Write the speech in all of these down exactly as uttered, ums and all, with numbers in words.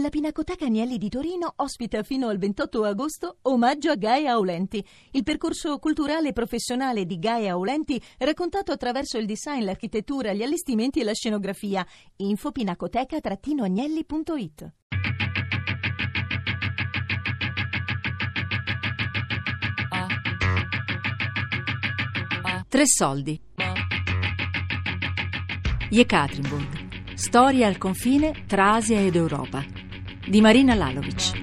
La Pinacoteca Agnelli di Torino ospita fino al ventotto agosto Omaggio a Gaia Aulenti, il percorso culturale e professionale di Gaia Aulenti raccontato attraverso il design, l'architettura, gli allestimenti e la scenografia. Info pinacoteca agnelli punto it. Tre soldi. Jekaterinburg. Storia al confine tra Asia ed Europa. Di Marina Lalovic.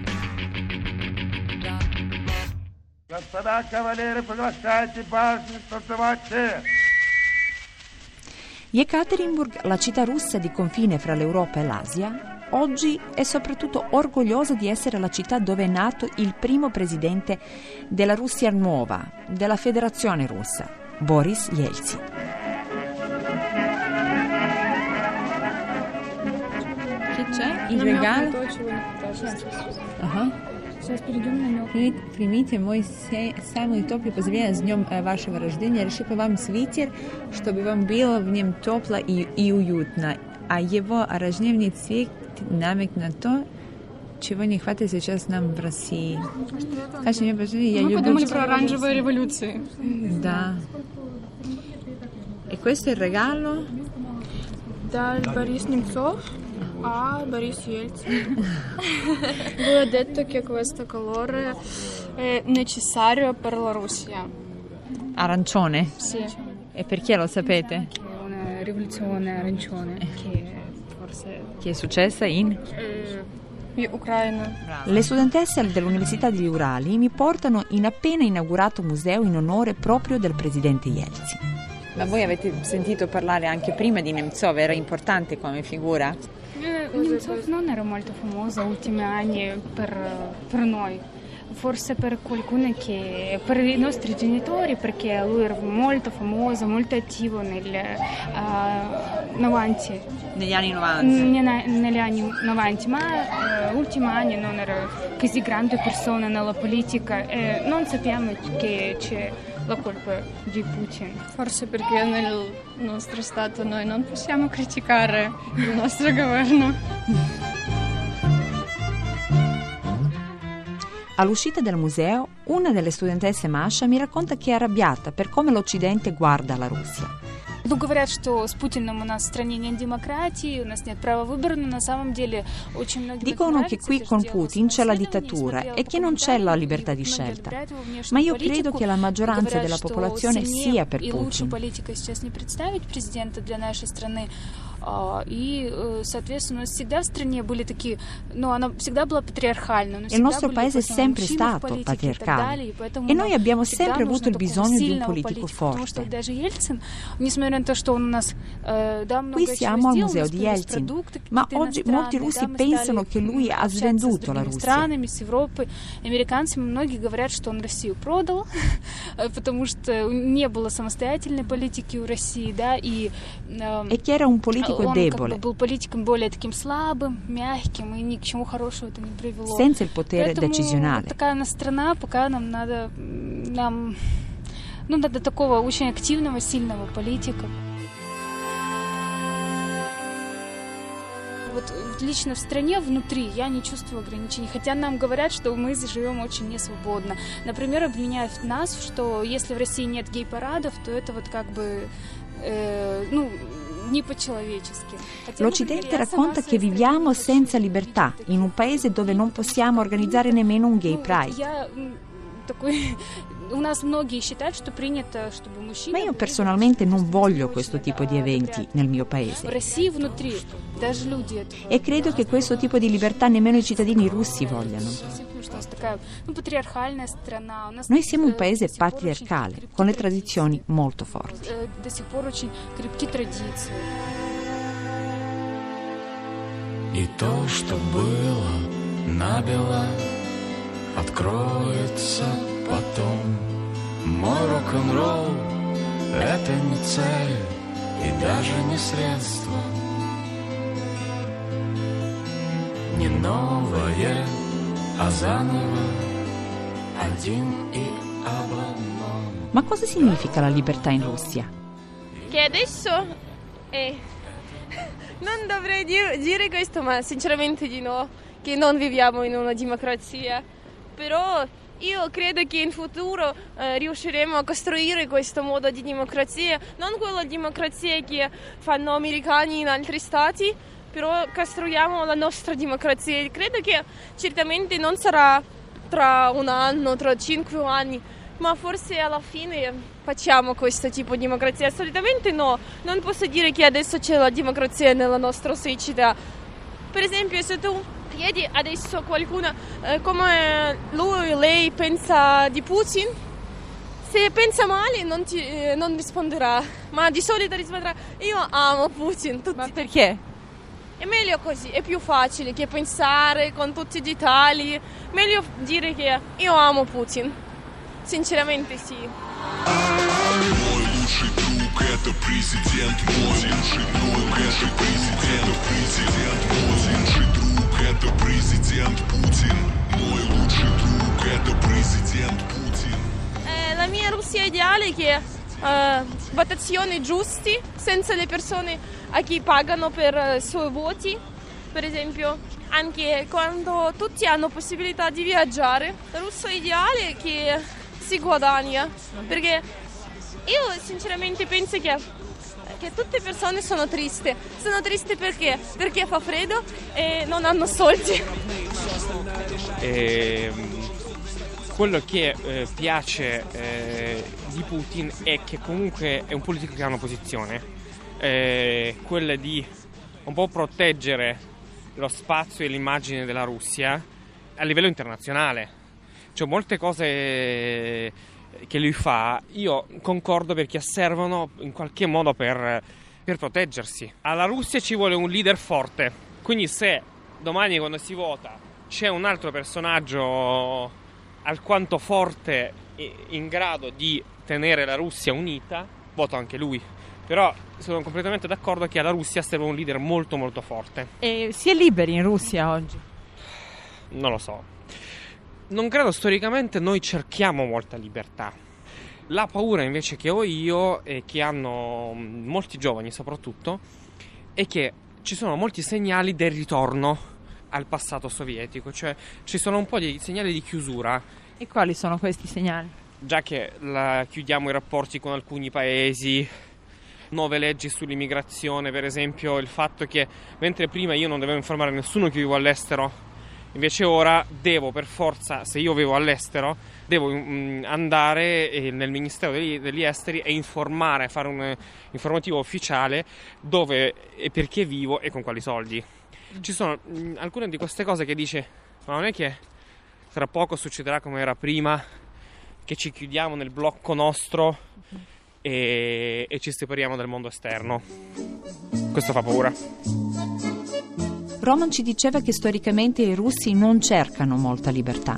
Jekaterinburg, la città russa di confine fra l'Europa e l'Asia, oggi è soprattutto orgogliosa di essere la città dove è nato il primo presidente della Russia nuova, della Federazione Russa, Boris Yeltsin. Che c'è? Il regalo? Ага. Примите мой самый теплый поздравление с днем вашего рождения. Решила вам свитер, чтобы вам было в нем тепло и, и уютно. А его рождественный цвет намек на то, чего не хватает сейчас нам в России. Скажите мне, пожалуйста, я Мы люблю... подумали про оранжевые революции. Да. E questo è il regalo? Да, Борис Немцов, а Борис Ельцин. Voi ha detto che questo colore è necessario per la Russia. Arancione? Sì. E perché lo sapete? È una rivoluzione arancione che forse... Che è successa in? Eh, Ucraina. Le studentesse dell'Università degli Urali mi portano in appena inaugurato museo in onore proprio del presidente Yeltsin. Ma voi avete sentito parlare anche prima di Nemtsov? Era importante come figura? Nemtsov non era molto famoso negli ultimi anni per, per noi, forse per qualcuno che per i nostri genitori, perché lui era molto famoso, molto attivo nel, uh, novanta. Negli anni novanta? N- negli anni novanta, ma negli uh, ultimi anni non era così grande persona nella politica e non sappiamo che c'è la colpa di Putin. Forse perché nel nostro Stato noi non possiamo criticare il nostro governo. All'uscita del museo, una delle studentesse Masha mi racconta che è arrabbiata per come l'Occidente guarda la Russia. Ну, говорят, что с Путиным у нас в стране нет демократии, у нас нет права выбора, но на самом деле очень многим Dicono che qui con Putin c'è la dittatura e che non c'è la libertà di scelta. Ma io credo che la maggioranza della popolazione sia per Putin. И, соответственно, у нас всегда в стране были такие, ну, она всегда была патриархальна. Il nostro paese è sempre stato patriarcale e noi abbiamo sempre avuto il bisogno di un politico forte. Qui siamo al museo di Yeltsin, ma oggi molti russi pensano che lui ha svenduto la Russia. С Европой, американцами многие говорят, что он Россию продал, потому что не было самостоятельной политики у России, да, и e che era un politico он debole, как бы был политиком более таким слабым, мягким, и ни к чему хорошему это не привело. senza il potere Поэтому decisionale. такая у нас страна, пока нам надо, нам, ну, надо такого очень активного, сильного политика. Вот лично в стране внутри я не чувствую ограничений, хотя нам говорят, что мы живем очень несвободно. Например, обвиняют нас, что если в России нет гей-парадов, то это вот как бы, э, ну, не по-человечески. L'Occidente racconta che viviamo senza libertà, in un paese dove non possiamo organizzare nemmeno un gay pride. Ma io personalmente non voglio questo tipo di eventi nel mio paese. E credo che questo tipo di libertà nemmeno i cittadini russi vogliano. Noi siamo un paese patriarcale, con le tradizioni molto forti. И то, что было набело, откроется потом. Мой рок-н-ролл — это не цель и даже не средство, не новое, а заново один и об одном. Ma cosa significa la libertà in Russia? Che adesso è... Non dovrei dire, dire questo, ma sinceramente di no. che non viviamo in una democrazia, però io credo che in futuro eh, riusciremo a costruire questo modo di democrazia, non quella democrazia che fanno americani in altri stati, però costruiamo la nostra democrazia. Credo che certamente non sarà tra un anno, tra cinque anni, ma forse alla fine facciamo questo tipo di democrazia. Assolutamente no, non posso dire che adesso c'è la democrazia nella nostra società. Per esempio, se tu chiedi adesso a qualcuno eh, come lui o lei pensa di Putin, se pensa male non, ti, eh, non risponderà, ma di solito risponderà io amo Putin. Tutti. Ma perché? È meglio così, è più facile che pensare con tutti i dettagli, meglio dire che io amo Putin, sinceramente sì. Мой лучший друг это президент мой, лучший друг это президент, президент мой, лучший друг это президент Путин, мой лучший друг это президент Путин. Eh, la mia Russia ideale è che uh, votazioni giusti, senza le persone a chi pagano per i uh, suoi voti, per esempio anche quando tutti hanno possibilità di viaggiare. La Russia ideale è che si guadagna, perché io sinceramente penso che, che tutte le persone sono tristi. Sono tristi perché? Perché fa freddo e non hanno soldi. E, quello che eh, piace eh, di Putin è che comunque è un politico che ha una posizione, eh, quella di un po' proteggere lo spazio e l'immagine della Russia a livello internazionale. Cioè molte cose che lui fa, io concordo perché servono in qualche modo per, per proteggersi. Alla Russia ci vuole un leader forte, quindi se domani quando si vota c'è un altro personaggio alquanto forte e in grado di tenere la Russia unita, voto anche lui. Però sono completamente d'accordo che alla Russia serve un leader molto molto forte. E si è liberi in Russia oggi? Non lo so. Non credo storicamente noi cerchiamo molta libertà. La paura invece che ho io e che hanno molti giovani soprattutto è che ci sono molti segnali del ritorno al passato sovietico, cioè ci sono un po' di segnali di chiusura. E quali sono questi segnali? Già che la, chiudiamo i rapporti con alcuni paesi, nuove leggi sull'immigrazione, per esempio il fatto che mentre prima io non dovevo informare nessuno che vivo all'estero, invece ora devo per forza, se io vivo all'estero, devo mh, andare eh, nel Ministero degli, degli Esteri e informare, fare un informativo ufficiale dove e perché vivo e con quali soldi. Ci sono mh, alcune di queste cose che dice, ma non è che tra poco succederà come era prima, che ci chiudiamo nel blocco nostro e, e ci separiamo dal mondo esterno. Questo fa paura. Roman ci diceva che storicamente i russi non cercano molta libertà.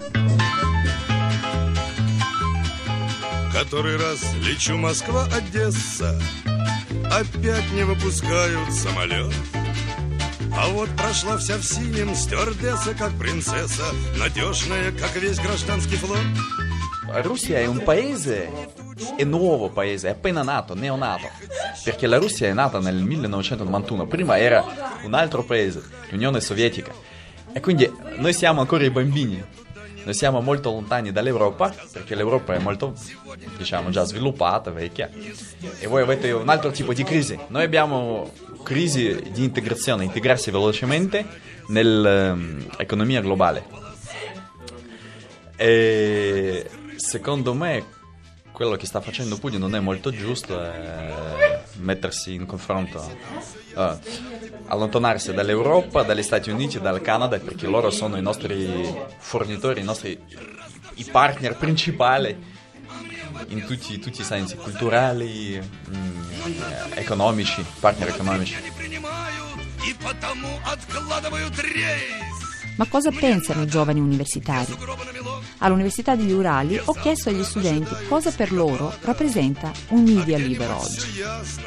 Который раз лечу Москва-Одесса, опять не выпускают самолет. А вот прошла вся в синем стюардесса, как принцесса, надежная, как весь гражданский флот. La Russia è un paese, è nuovo paese, è appena nato, neonato, perché la Russia è nata nel millenovecentonovantuno, prima era un altro paese, l'Unione Sovietica, e quindi noi siamo ancora i bambini, noi siamo molto lontani dall'Europa, perché l'Europa è molto, diciamo, già sviluppata, vecchia, e voi avete un altro tipo di crisi. Noi abbiamo crisi di integrazione, integrarsi velocemente nell'economia globale. E secondo me quello che sta facendo Putin non è molto giusto, è mettersi in confronto, uh, allontanarsi dall'Europa, dagli Stati Uniti, dal Canada, perché loro sono i nostri fornitori, i nostri i partner principali in tutti, tutti i sensi, culturali, mh, economici, partner economici. Ma cosa pensano i giovani universitari? All'Università degli Urali ho chiesto agli studenti cosa per loro rappresenta un media libero oggi.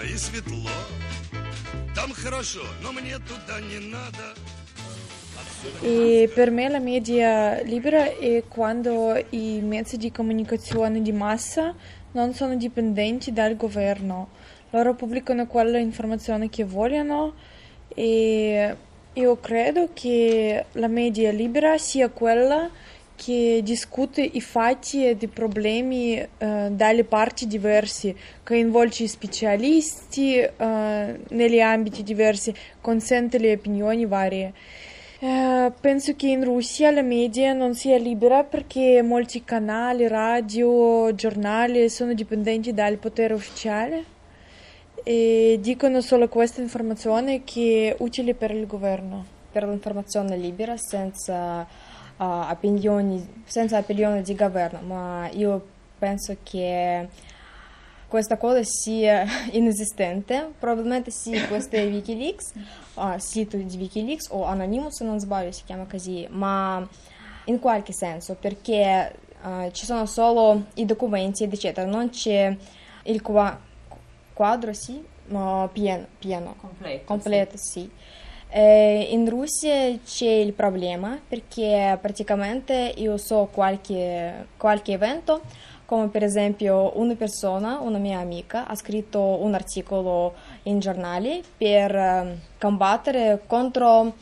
E per me la media libera è quando i mezzi di comunicazione di massa non sono dipendenti dal governo. Loro pubblicano quella informazione che vogliono e Io credo che la media libera sia quella che discute i fatti e i problemi eh, dalle parti diverse, coinvolge specialisti eh, negli ambiti diversi, consente le opinioni varie. Eh, penso che in Russia la media non sia libera perché molti canali, radio, giornali sono dipendenti dal potere ufficiale e dicono solo questa informazione che è utile per il governo. Per l'informazione libera senza uh, opinioni, senza opinioni di governo, ma io penso che questa cosa sia inesistente. Probabilmente sì, questo è Wikileaks, uh, sito di Wikileaks o Anonymous se non sbaglio si chiama così, ma in qualche senso perché uh, ci sono solo i documenti ed eccetera, non c'è il qua- quadro sì, uh, pieno, pieno, completo, completo sì. sì. Eh, in Russia c'è il problema perché praticamente io so qualche, qualche evento, come per esempio una persona, una mia amica, ha scritto un articolo in giornali per uh, combattere contro,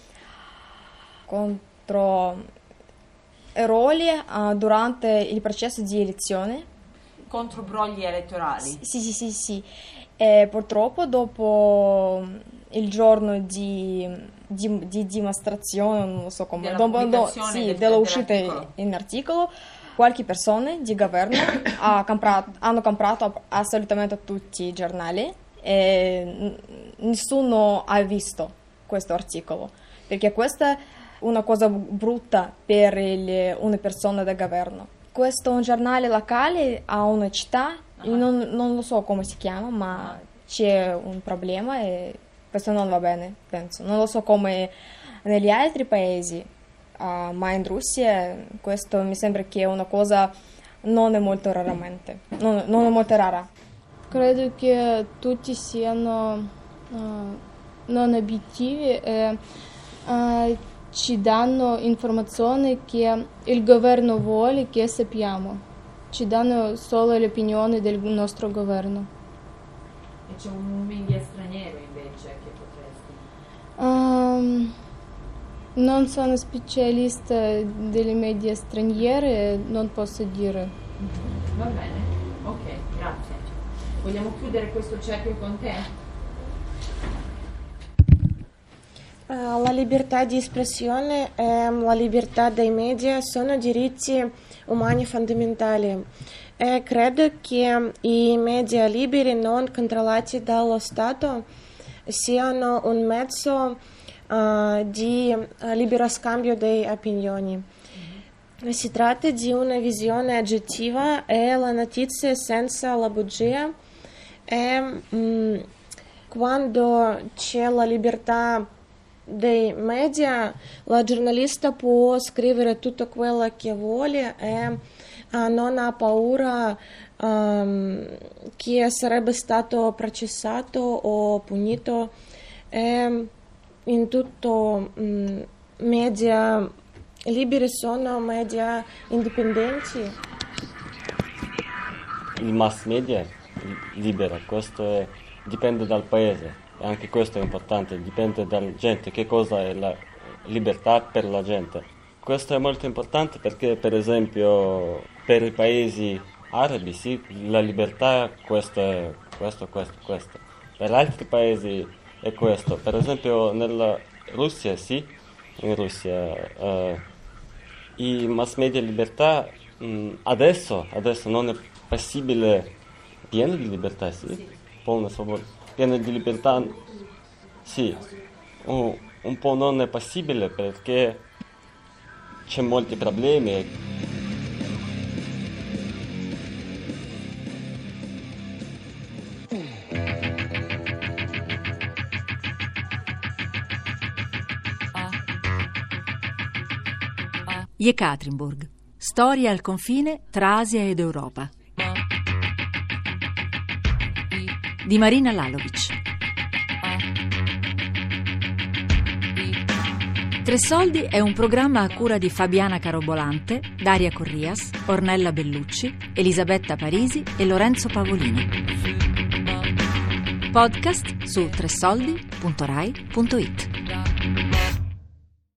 contro errori uh, durante il processo di elezione. Contro brogli elettorali? Sì, sì, sì, sì. E purtroppo dopo il giorno di, di, di dimostrazione, non so come, della dopo, do, sì, del, dell'uscita in articolo, qualche persona di governo ha comprato, hanno comprato assolutamente tutti i giornali e nessuno ha visto questo articolo, perché questa è una cosa brutta per il, una persona del governo. Questo è un giornale locale a una città, io non, non lo so come si chiama, ma c'è un problema e questo non va bene, penso. Non lo so come negli altri paesi, uh, ma in Russia questo mi sembra che è una cosa non è molto raramente, non, non è molto rara. Credo che tutti siano uh, non obiettivi e uh, ci danno informazioni che il governo vuole che sappiamo. Ci danno solo le opinioni del nostro governo. E c'è un media straniero invece che potresti? Um, non sono specialista delle media straniere, non posso dire. Mm-hmm. Va bene, ok, grazie. Vogliamo chiudere questo cerchio con te? La libertà di espressione e la libertà dei media sono diritti umani fondamentali e credo che i media liberi non controllati dallo Stato siano un mezzo uh, di libero scambio di opinioni. Mm-hmm. Si tratta di una visione oggettiva e la notizia senza la bugia e um, quando c'è la libertà dei media, la giornalista può scrivere tutto quello che vuole e uh, non ha paura um, che sarebbe stato processato o punito. E in tutto um, media liberi sono media indipendenti. Il mass media libera, questo è, dipende dal paese. Anche questo è importante, dipende dalla gente, che cosa è la libertà per la gente. Questo è molto importante perché, per esempio, per i paesi arabi, sì, la libertà è questo, questo, questo, questo. Per altri paesi è questo. Per esempio, nella Russia, sì, in Russia, eh, i mass media libertà mh, adesso, adesso non è possibile, pieno di libertà, sì, polna svoboda. Pieno di libertà, sì, un, un po' non è possibile perché c'è molti problemi. Yekaterinburg, storia al confine tra Asia ed Europa. Di Marina Lalovic. Tre Soldi è un programma a cura di Fabiana Carobolante, Daria Corrias, Ornella Bellucci, Elisabetta Parisi e Lorenzo Pavolino. Podcast su tresoldi punto rai punto it.